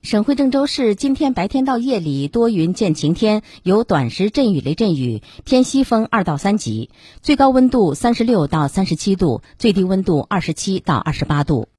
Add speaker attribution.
Speaker 1: 省会郑州市今天白天到夜里多云见晴天，有短时阵雨雷阵雨，偏西风2到3级，最高温度36到37度，最低温度27到28度。